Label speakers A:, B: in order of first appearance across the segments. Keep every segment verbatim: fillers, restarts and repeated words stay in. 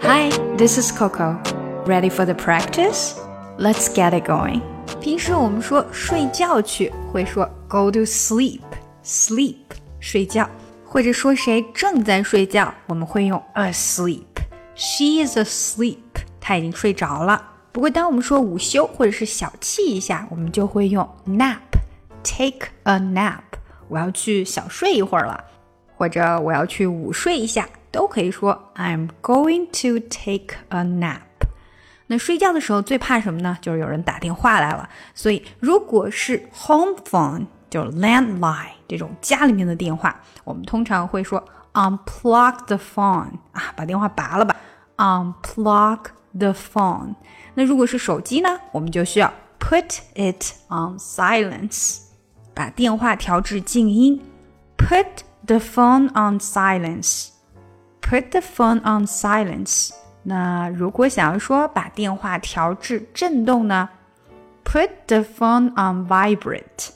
A: Hi, this is Coco. Ready for the practice? Let's get it going.
B: 平时我们说睡觉去会说 go to sleep, sleep 睡觉，或者说谁正在睡觉我们会用 asleep. She is asleep. 她已经睡着了。不过当我们说午休或者是小憩一下，我们就会用 nap. Take a nap. 我要去小睡一会儿了，或者我要去午睡一下，都可以说 I'm going to take a nap. 那睡觉的时候最怕什么呢？就是有人打电话来了。所以如果是 home phone 就是 landline 这种家里面的电话，我们通常会说 unplug the phone 啊，把电话拔了吧 unplug the phone。 那如果是手机呢，我们就需要 put it on silence， 把电话调至静音 put the phone on silence put the phone on silence。 那如果想要说把电话调至震动呢， put the phone on vibrate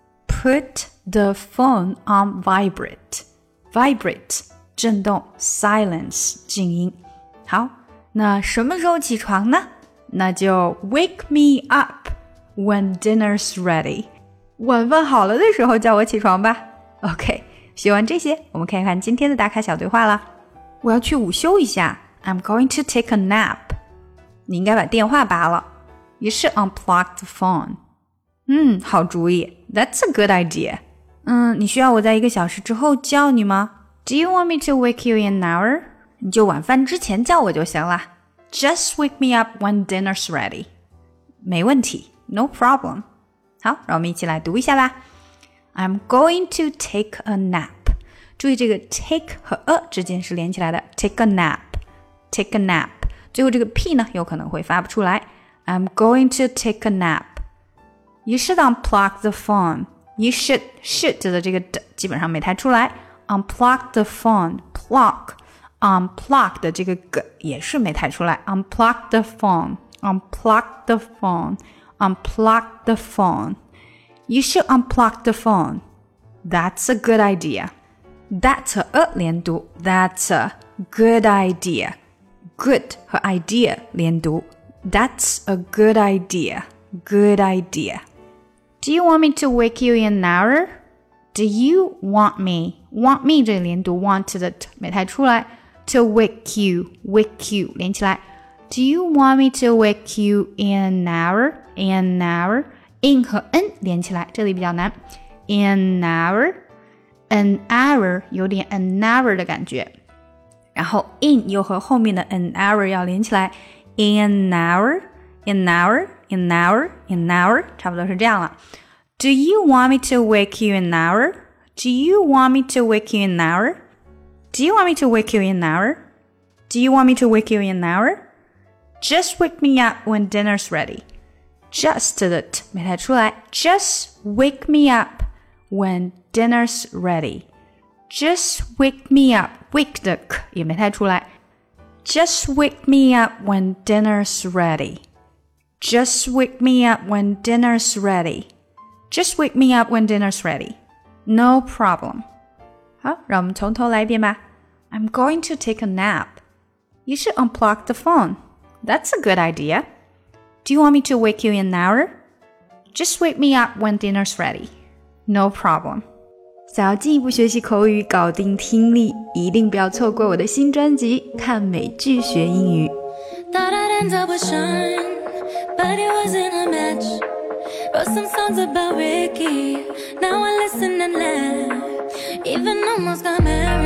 B: put the phone on vibrate vibrate 震动 silence 静音。好，那什么时候起床呢？那就 wake me up when dinner's ready， 晚饭好了的时候叫我起床吧。 OK， 学完这些我们看一看今天的打卡小对话啦。我要去午休一下， I'm going to take a nap。 你应该把电话拔了， You should unplug the phone。 嗯，好主意， That's a good idea。 嗯，你需要我在一个小时之后叫你吗？ Do you want me to wake you in an hour？ 你就晚饭之前叫我就行了。 Just wake me up when dinner's ready。 没问题， No problem。 好，让我们一起来读一下吧。 I'm going to take a nap。注意这个 take 和 a 之间是连起来的 take a nap take a nap， 最后这个 p 呢有可能会发不出来。 I'm going to take a nap。 You should unplug the phone。 You should should 的这个的基本上没太出来。 Unplug the phone plug unplug 的这个 g 也是没太出来。 Unplug the phone unplug the phone unplug the phone You should unplug the phone. That's a good idea.That's 和 a 连读 That's a good idea。 Good 和 idea 连读 That's a good idea Good idea。 Do you want me to wake you in an hour? Do you want me Want me 这里连读 Want 的 t 没太出来。 To wake you Wake you 连起来。 Do you want me to wake you in an hour? In an hour In 和 n 连起来，这里比较难。 In an hour?An hour 有点 an hour 的感觉，然后 in 又和后面的 an hour 要连起来。 In an hour In an hour In an hour In an hour 差不多是这样了。 Do you want me to wake you in an hour? Do you want me to wake you in an hour? Do you want me to wake you in an hour? Do you want me to wake you in an hour? Just wake me up when dinner's ready. Just 的 t 没太出来。 Just wake me up when dinner's ready. Just wake me up. Wake 的 k 也没太出来。 Just wake me up when dinner's ready. Just wake me up when dinner's ready. Just wake me up when dinner's ready. No problem. 好，让我们从头来一遍吧。 I'm going to take a nap. You should unplug the phone. That's a good idea. Do you want me to wake you in an hour? Just wake me up when dinner's ready.No problem。 想要进一步学习口语，搞定听力，一定不要错过我的新专辑《看美剧学英语》。
C: Thought I'd end up with Sean, but it wasn't a match. Wrote some songs about Ricky, now I listen and laugh. Even almost got married.